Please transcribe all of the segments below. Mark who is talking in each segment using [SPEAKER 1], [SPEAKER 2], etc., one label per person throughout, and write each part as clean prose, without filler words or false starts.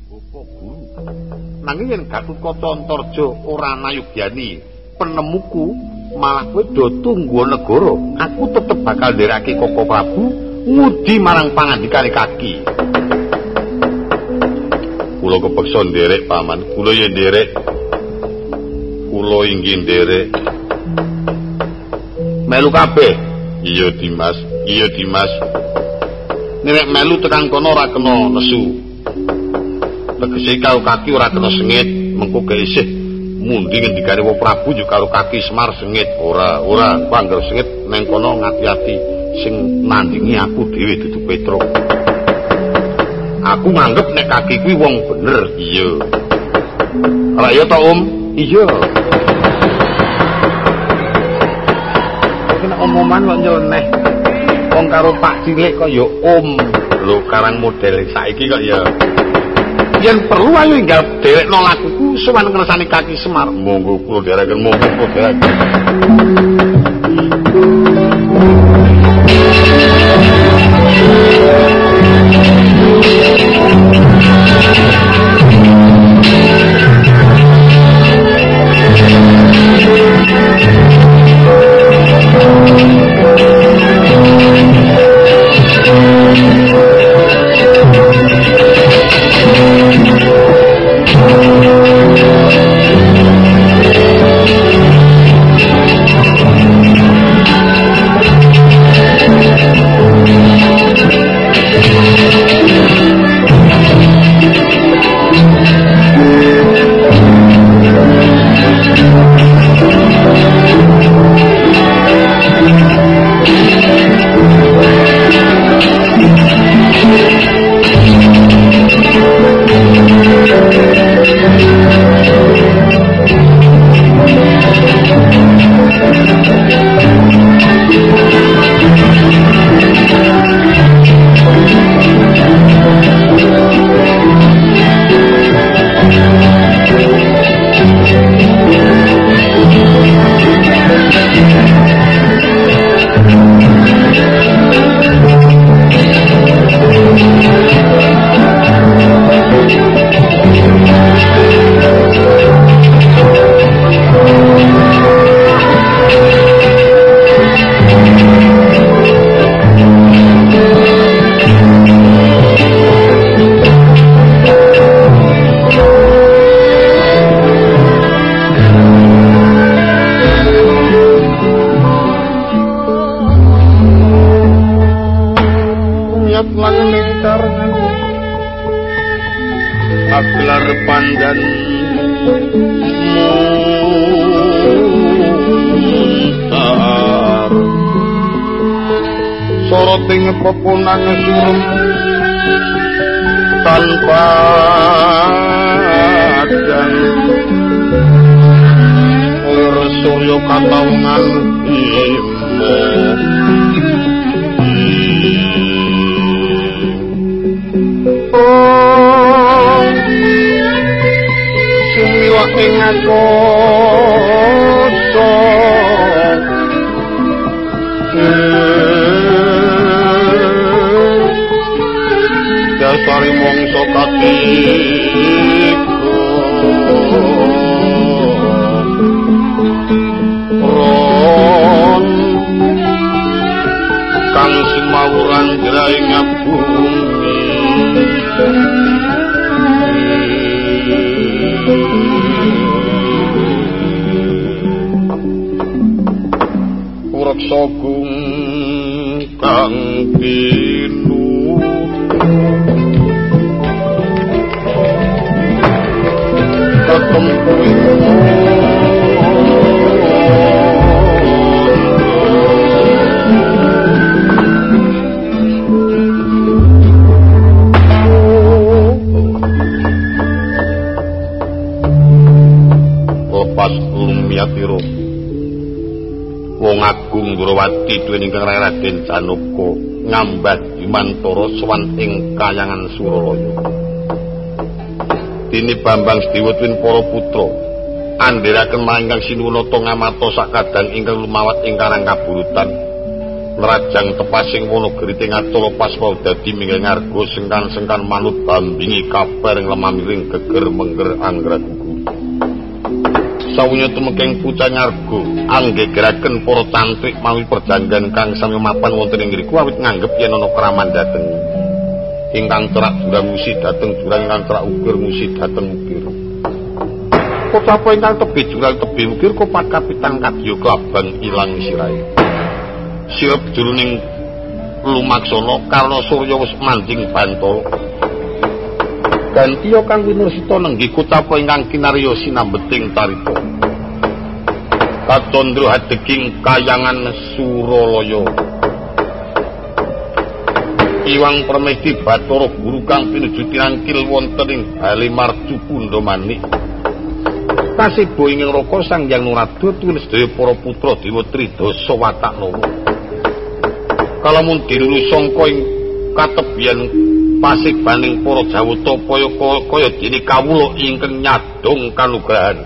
[SPEAKER 1] Bapak Guru. Nanging yen Gatotkaca Antarja ora nayugyani penemuku, malah kowe do tunggu negara. Aku tetep bakal ndereke Koko Prabu ngudi marang pangandikane Kaki. Kula kepeksa nderek paman, kula yen nderek. Kula inggih nderek. Melu kabeh. Iya Dimas, iya Dimas. Nek melu tekan kono ora kena nesu. Tegese karo Kaki ora kena sengit, mengko gak isih mundi ngendikane wong Prabu yo karo Kaki Semar sengit. Ora pangger sengit neng kono ngati-ati sing nandingi aku dhewe dudu Petro. Aku nganggep nek Kaki kuwi wong bener. Iya. Ora ya to, Om? Iya. Kena omongan kok nyeleneh. Wong karo Pak Cilik kok ya Om. Lho karang model saiki kok ya. Yen perlu ayo enggal derekno lakuku sowan ngersani Kaki Semar. Monggo kula dereken, monggo kula dereken. Pepunang surum tanpa dan surya kataungan imo sumiwa ing akoso dasari mongso katiku ron kang simawuran jraing bumi ureksa gung kang lepas lumiyatiro wong agung Durawati duweni ingkang Raden Janaka ngambah Bimantara sowan ing kayangan Suralaya. Dene Bambang Sedewa tuwin para putra andhiraken mangkang Sinuwunata ngamata sakadang ingkang lumawat ing karang kaburutan nerajang tepasing Wonogiri ngatula pasma dadi mingga ngarga sengkan-sengkan manut bambingi kabar ing lemah miring geger mengger anggragugu. Sawunya tumengking pucang ngarga anggegeraken para cantrik mawi perjanjian kang sami mapan wonten ing ngriku awit nganggep yen ana kraman dhateng ingkang cerak jurang musi dhateng jurang ingkang cerak ukir musi dhateng ukir. Kocapa ingkang tebih jurang tebih ukir kopat kapitan kadya klabang ilang sirahe. Sirep jroning lumaksana karna Surya wis manjing Bantala. Gantiya kang winursita nenggih kocapa ingkang kinarya sinambeting carita. Kacandra hadeging kayangan Suralaya. Iwang Permesti Bathara Guru kang pinuju tinangkil wonten ing Bali Marju Pundamanik. Kasibo ing Raka Sang Hyang Narada tuwin sedaya para putra Dewa Tridasa Wataknawa. Kalamun dirulu sangka ing katebian pasigbaning para Jawata kaya dene kawula ingkang nyadong kanugrahan.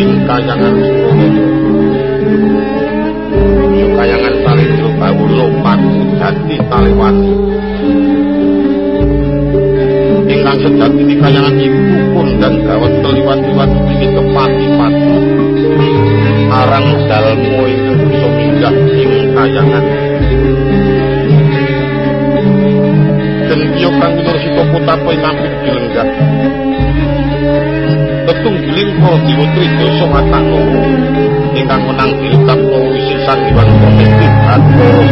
[SPEAKER 1] ing kayangan Suralaya. Kayangan Salendra Bawula Pati Jati Taliwati. Ingkang sejatine kayangan iku kondang gawat teliwat-liwat iki kepati-pati. Arang dalmu ingkang bisa minggah ing kayangan. Gentiya kang Winursita Kotapa nampik dilenggah. Tetunggiling para dewa Tridasa Watanawa ingkang menang dilekapno wisisan Hyang Protestif Bathara.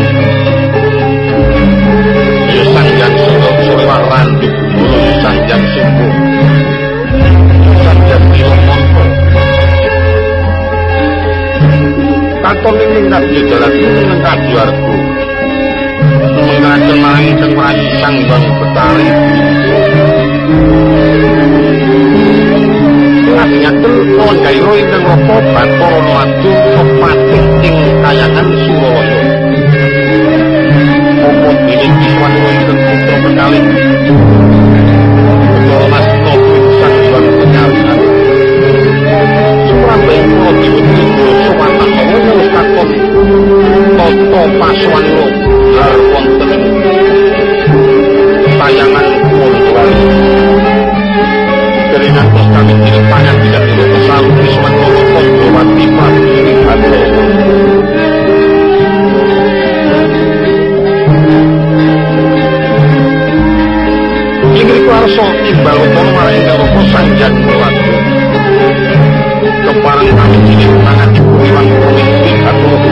[SPEAKER 1] Ya Sanjang Surya Randu Gumara ya Sanjang Sumbo. Ya Sanjang Nilamanta. Katon ing ningrat ya dalan ing Kajuarga. Mengajen marang ingkang mrayi Sang Hyang Betari. Ngaten kawon gairo ingkang rapa Bathara maju kepatih ing kayangan Suralaya. Apa dene kiswan ingkang putra kekalih. Bathara Masna Sang Hyang Penyalihan. Surabaya kula diwedhi Watanawa wis kakon tata paswanira har wonten kayangan Suralaya. Dengan kami tidak banyak bisa dilakukan selalu Kiswan Lorokon Dewati Pati Bathara. Inggih kuarsa imbal utama marang ingkang rapa Sanjang Melati. Keparang kami cilik tangan cukup Hyang Protestif Bathara.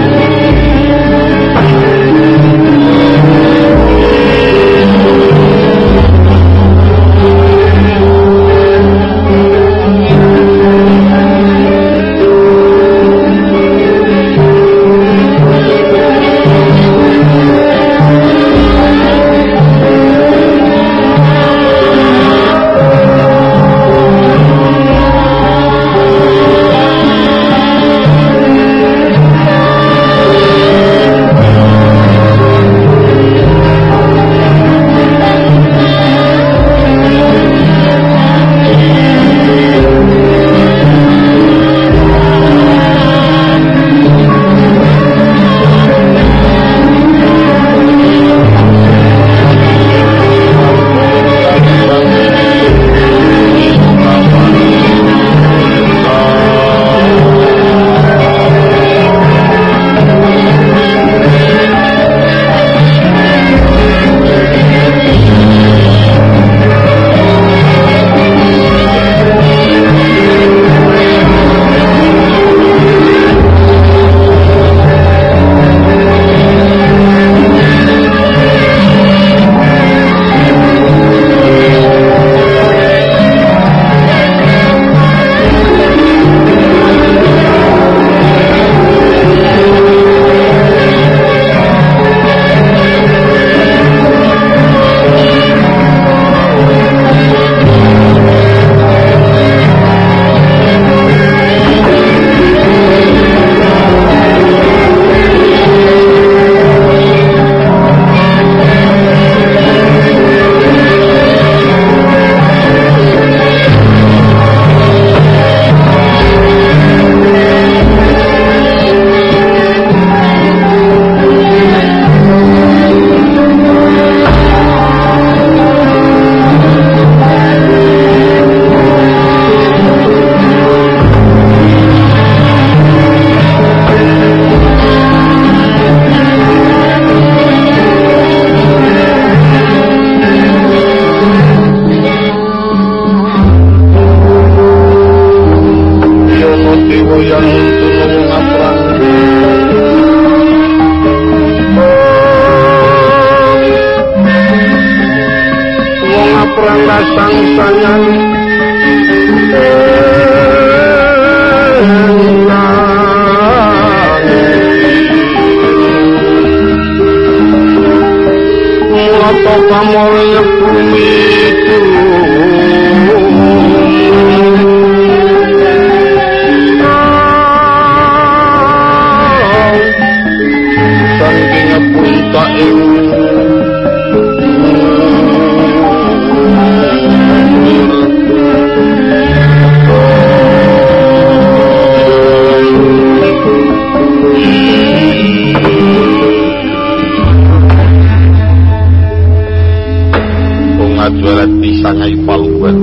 [SPEAKER 1] ngayu palungguhan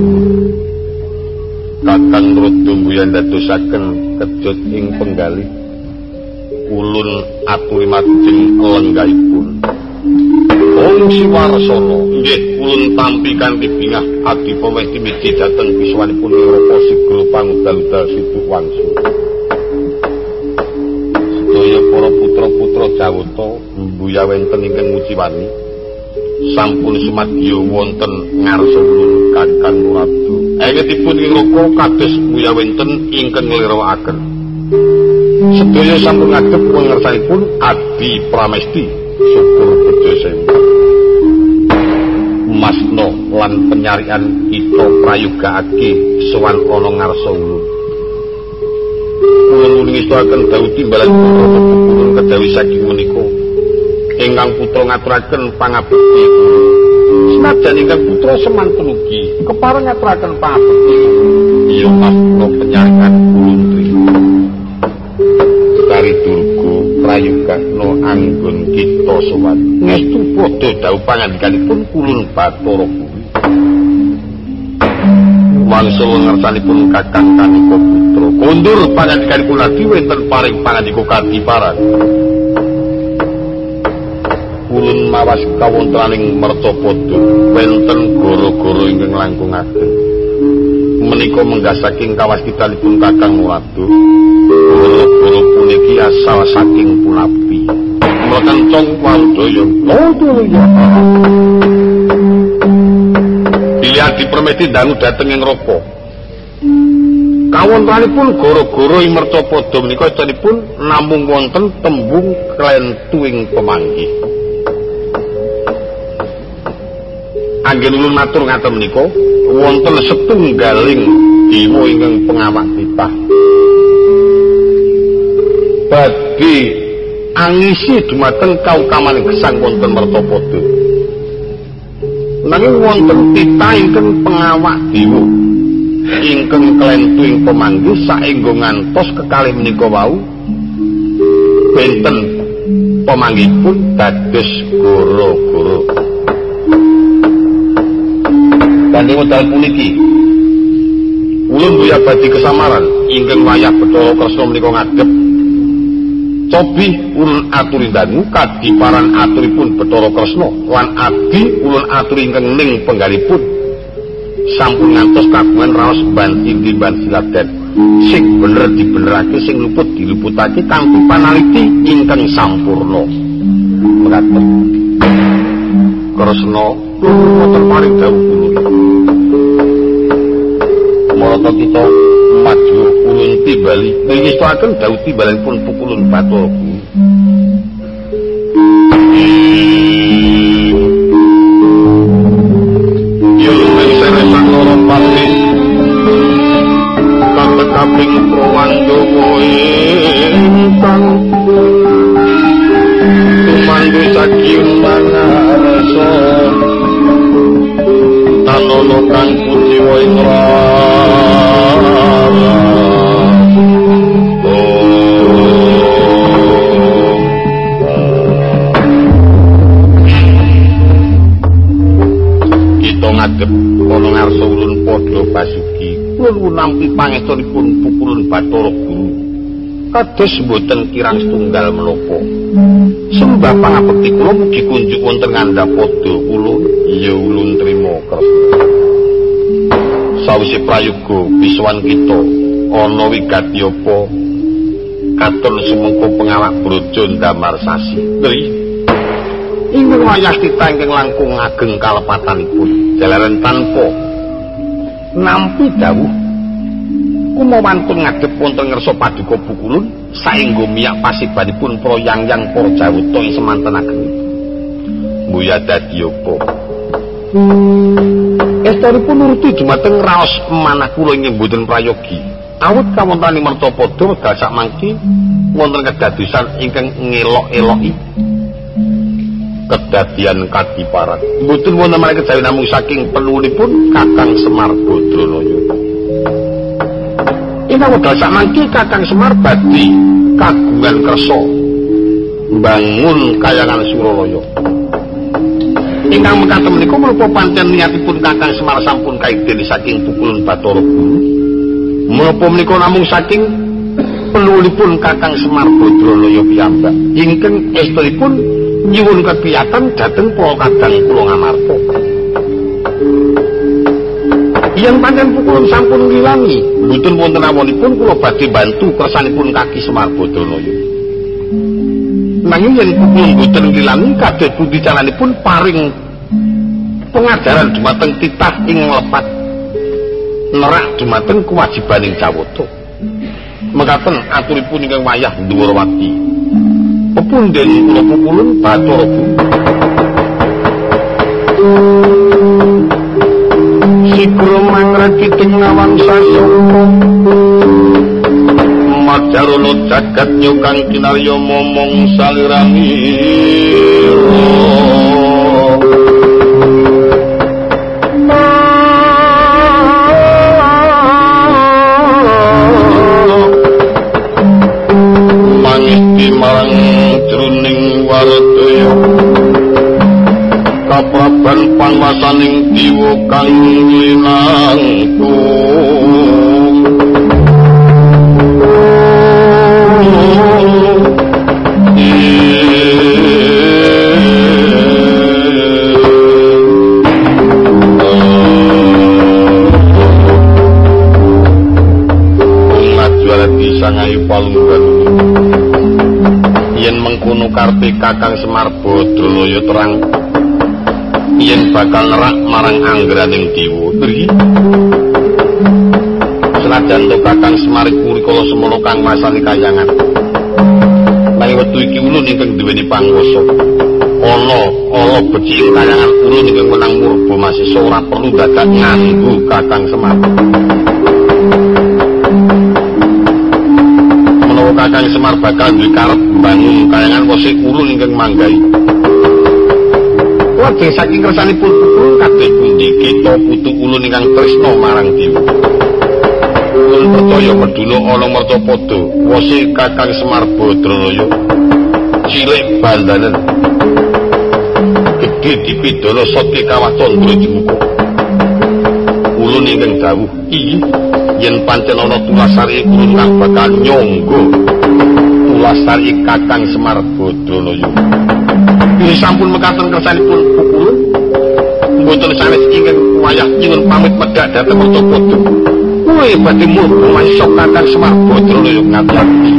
[SPEAKER 1] Kakang Rudumbuyan dadosaken kejut ing penggalih ulun aturi majeng lenggahipun Om Siwarsana nggih ulun tampi kanthi bingah adi pamesti miji dhateng biswanipun Rapa Sigro pangudal-udal Situ Wangsu sedaya para putra-putra Jawata mbuya wenten ingkang mujiwani sampun sumadya wonten ngarsa ulun Kakang Ratu Engitipun ing Raka kados mbuya wenten ingkang nglirwakaken sedaya sampun ngadhep pangersanipun Adi Pramesti syukur bejo sempat Masna lan penyarian kita prayogakake sowan ana ngarsa ulun ulun ngistakaken dawuh timbalan putra ulun kedawi saking menika ingkang putra ngaturaken pangabekti senajan ingkang putra semanten ugi kepareng ngaturaken pangabekti iya Masna penyarian ulun trima Kari Durga prayogakna anggon kita sowan ngestu padha dawuh pangandikanipun kulun Bathara Guru wangsul ngersanipun Kakang Kanika Putra kondur pangandikanipun lagi wenten paring pangandika kadiparan kulun mawas kawontenaning Mercapada wenten gara-gara ingkang langkung ageng menika menggah saking kawastitanipun Kakang Ratu guru puniki asal saking Punapi mlekencong Waldaya Lodaya dilihat dipermeti dangu dhateng ing Raka kawontenanipun gara-gara ing Mercapada menika edanipun namung wonten tembung klentuing pemanggih anggen ulun matur ngaten menika wonten setunggaling dewa ingkang pengawak titah badhe angisi dumateng kautamaning gesang wonten Mercapada nanging wonten titah ingkang pengawak dewa ingkang klentuing pemanggih saengga ngantos kekalih menika wau benten pemanggihipun dados goro-goro kanthi wekdal puniki ulun buya badhe kesamaran ingkang wayah Bathara Kresna menika ngadhep cobi ulun aturi dangu kadiparan aturipun Bathara Kresna lan adi ulun aturi ingkang ning penggalipun sampun ngantos kagungan raos banti timban siladen sing bener dibenerake sing luput diluputake kanthi panaliti ingkang sampurna mekaten Kresna wonten paring dawuh kula marata kita maju ulun timbali ngistakaken dawuh timbalanipun pukulun Bathara Guru yo mengsere sanara pati kaping prawandawa ingkang tumandu saking mangarsa tanono kang kuciwa ing kita ngadhep ana ngarsa ulun padha basuki ulun nampi pangestunipun pukulun Bathara Guru kados boten kirang setunggal menapa sembah pangabekti kula mugi kunjuk wonten ngandhapada ulun ya ulun trima Kresna sawise prayoga biswan kita ana wigati apa katon sumengko pengawak brojo ndamar sasi nggih ingkang wayah titah ingkang langkung ageng kalepatanipun jalaran tanpa nampi dawuh kumawantun ngadhep wonten ngersa paduka pukulun saengga miyak pasibanipun proyang-yang para Jawata ing semanten ageng mbuya dadi apa estunipun nuruti dumateng raos manah kula ing mboten prayogi awit kawontenaning Mercapada wekdal sakmangke wonten kedadosan ingkang ngelok-eloki kedadian kadiparan mboten wonten malih kejawi namung saking pelunipun Kakang Semar Badranaya ing wekdal sakmangke Kakang Semar badhe kagungan kersa mbangun kayangan Suralaya Ingkang mekaten menika menapa pancen niatipun Kakang Semar sampun kaideni saking pukulan Bathara Guru? Menapa menika namung saking peluwihipun Kakang Semar Badranaya piyambak ingkang estunipun nyuwun kepiyatan dhateng para kadang kula ngamarta. Yen pancen pukulan sampun ngilangi, mboten wonten awonipun kula badhe bantu kersanipun Kaki Semar Badranaya. Nanging yen pukulan mboten ngilangi kados pundi caranipun paring pengajaran dumateng titah ing lepat nerak dumateng kewajibaning Jawata. Mekaten aturipun ingkang wayah Ndhuwarawati. Pepundhen kula pukulan Bathara Guru. Sikro mangrakiting ngawang sasongko Majarana jagat nyukang kinarya momong salirangiro Mangisti marang jroning waradaya kapraban panwasaning diwa kang linangkung Sangayu palunggan yen mengkono karpe Kakang Semar Badranaya terang yen bakal nerak marang anggraning dewa tri senajan to Kakang Semar iku rikala semana kang masani kayangan nanging wektu iki ulun ingkang duweni panguwasa ana becik kayangan ulun ingkang menang murba masisa ora perlu dadak nganggo Kakang Semar. Kakang Semar bakal duwe karep bangun kayangan wosik ulun ingkang manggai. Lajeng saking kersanipun pukulun kados pundi kita putu ulun ingkang tresna marang dewa. Ulun percaya meduna ana Mertapada wosik Kakang Semar Badranaya cilik bandanen gedhe dipidana Satya Kawah Candra Jemuka. Ulun ingkang dawuh iki yen pancen ana tulasari ulun kang bakal nyangga tulasari Kakang Semar Badranaya. Ini sampun mekaten kersanipun pukulun mboten sanes ingkang wayah nyuwun pamit medhak dhateng Mertapada. Kowe badhe murba masisa Kakang Semar Badranaya ngati-ati.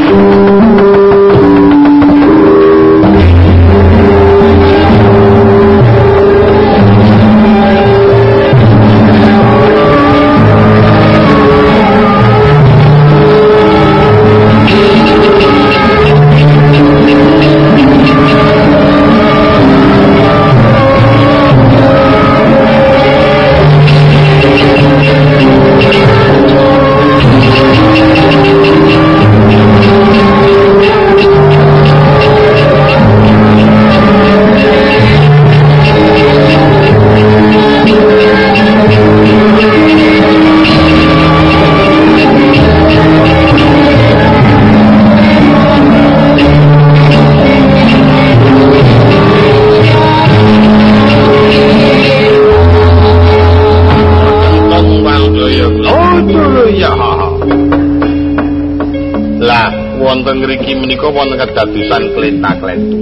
[SPEAKER 1] Ngriki menika wonten kedadosan klenta-klentu.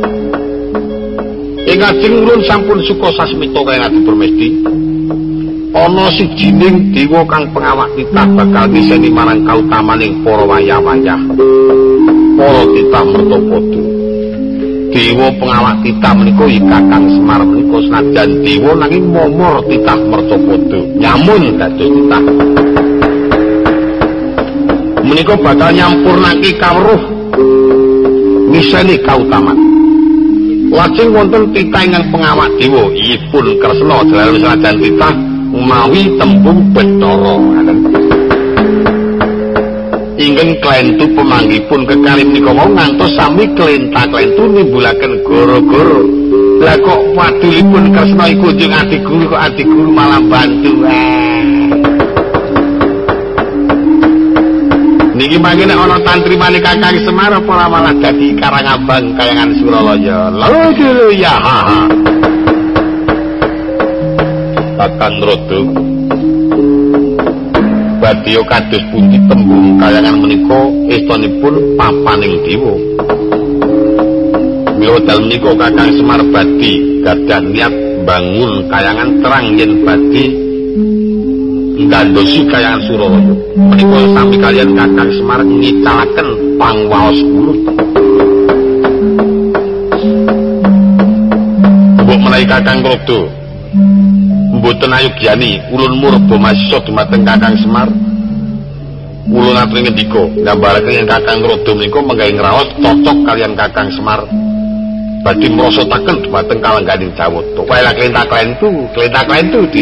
[SPEAKER 1] Ing ajeng ulun sampun suka sasmita kaliyan Adi Permesti. Ana sijining dewa kang pengawak titah bakal niseni marang kautamaning para wayah-wayah. Para titah Mertapada. Dewa pengawak titah menika iki Kakang Semar menika senajan dewa nanging momor titah Mertapada. Nyamun dados titah. Menika bakal nyampurnake kawruh miseni kautaman. Lajeng wonten titah ingkang pengawak dewa ipun Kresna jalaran senajan titah mawi tembung Bathara. Ingkang klentu pemanggipun kekalih menika wau ngantos sami klenta-klentu nimbulaken gara-gara. Lah kok wadulipun Kresna iku njung Adi Guru kok Adi Guru malah bantu. Niki mangke nek ana tantrimane Kakang Semar apa malah dadi Karangabang kayangan Suralaya. Lho ya. Kakang Rada. Badya kados pundi tembung kayangan menika estanipun papaning dewa. Mila dalem menika Kakang Semar badhe gadah niat bangun kayangan terang yen badhe nggandosi kayangan Suralaya. Menika sami kaliyan Kakang Semar ngicalaken pangwaos ulun. Mbok menawi Kakang Rada mboten ayugyani ulun murba masisa dumateng Kakang Semar. Ulun aturi ngendika ngambaraken yen Kakang Rada menika menggawe ngraos cocok kaliyan Kakang Semar badhe mrasataken dumateng kalengganing Jawata. Wae lak klentak klentu di.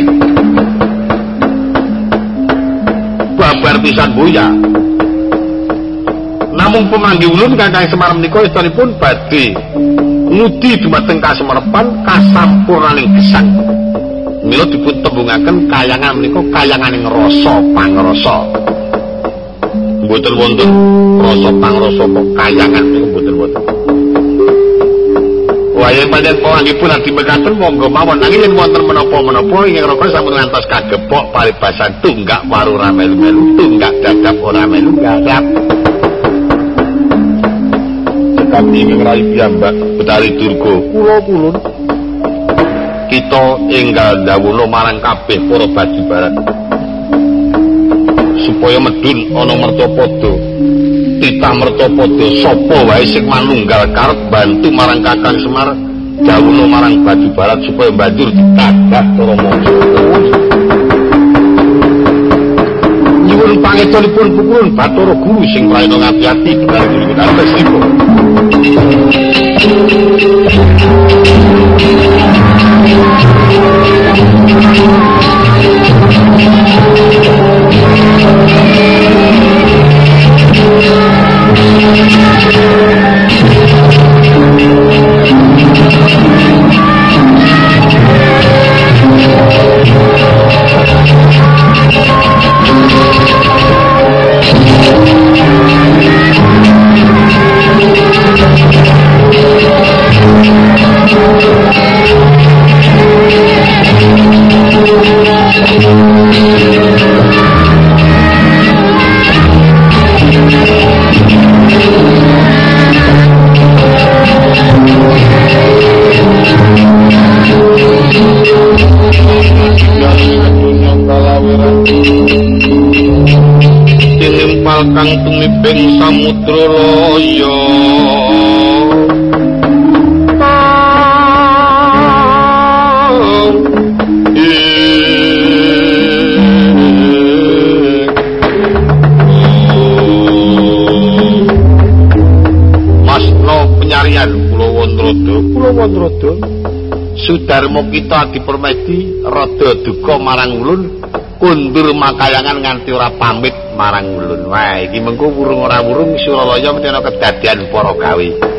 [SPEAKER 1] Babar pisan boya. Namung pemanggi ulun Kakang Semar menika istanipun badhe ngudi dumateng kasemerepan kasampurnaning gesang. Mila dipun tembungaken kayangan menika kayanganing rasa pangrasa. Mboten wonten rasa pangrasa kok kayangan menika mboten wonten. Waya panjenengan panganggipun adi mekaten monggo mawon nanging yen wonten menapa-menapa ingkang raka sampun ngantos kagepok paribasan tunggak waru ora melu-melu, tunggak dadap ora melu garap. Kami ngrayi piyambak Betari Durga kula pulun kita enggal dawuh marang kabeh para baju barat supaya medun ana mertapada titah mertapada sapa wae sing manunggal karep bantu marang Kakang Semar dawuh marang baju barat supaya banjur ditadah cara mangsa nyuwun pangetunipun pukulun Bathara Guru sing prayana ngati-ati Betari Durga Antastika. Kang tumiping samudra loya Masna penyarian Kula Wandrada Sudarma kita dipermedi rada duka marang ulun kundur makayangan nganti ora pamit marang ulun. Wah, iki mengko wurung ora wurung Suralaya mesti ana kedadian para gawe.